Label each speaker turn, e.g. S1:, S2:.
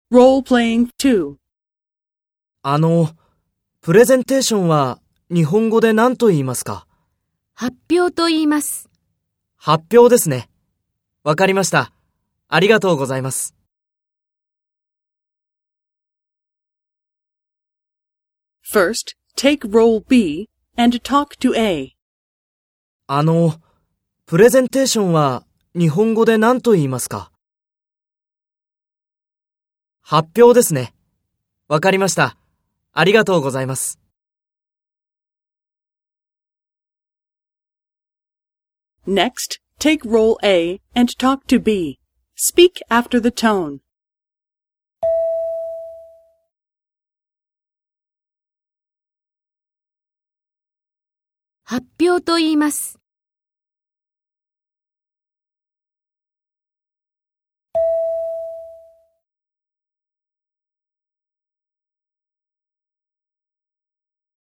S1: Role-playing 2.
S2: プレゼンテーションは日本語で何と言いますか？
S3: 発表と言います。
S2: 発表ですね。わかりました。ありがとうございます。
S1: First, take role B and talk to A.
S2: プレゼンテーションは日本語で何と言いますか？発表ですね。わかりました。ありがとうございます。
S1: Next, take role A and talk to B. Speak after the tone.
S3: 発表と言います。